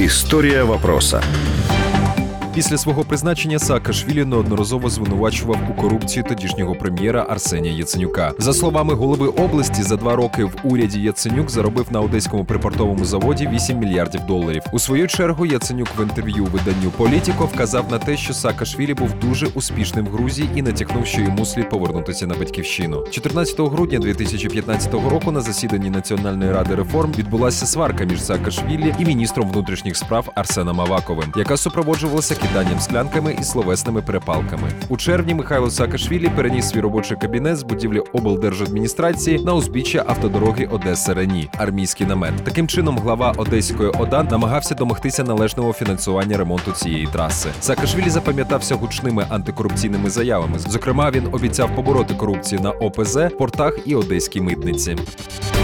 Історія вопроса. Після свого призначення Саакашвілі неодноразово звинувачував у корупції тодішнього прем'єра Арсенія Яценюка. За словами голови області, за 2 роки в уряді Яценюк заробив на одеському припортовому заводі $8 мільярдів. У свою чергу Яценюк в інтерв'ю виданню «Політіко» вказав на те, що Саакашвілі був дуже успішним в Грузії і натякнув, що йому слід повернутися на батьківщину. 14 грудня 2015 року на засіданні Національної ради реформ відбулася сварка між Саакашвілі і міністром внутрішніх справ Арсеном Аваковим, яка супроводжувалася киданням склянками і словесними перепалками. У червні Михайло Саакашвілі переніс свій робочий кабінет з будівлі облдержадміністрації на узбіччя автодороги Одеса-Рені, армійський намет. Таким чином, глава Одеської ОДА намагався домогтися належного фінансування ремонту цієї траси. Саакашвілі запам'ятався гучними антикорупційними заявами. Зокрема, він обіцяв побороти корупцію на ОПЗ, портах і одеській митниці.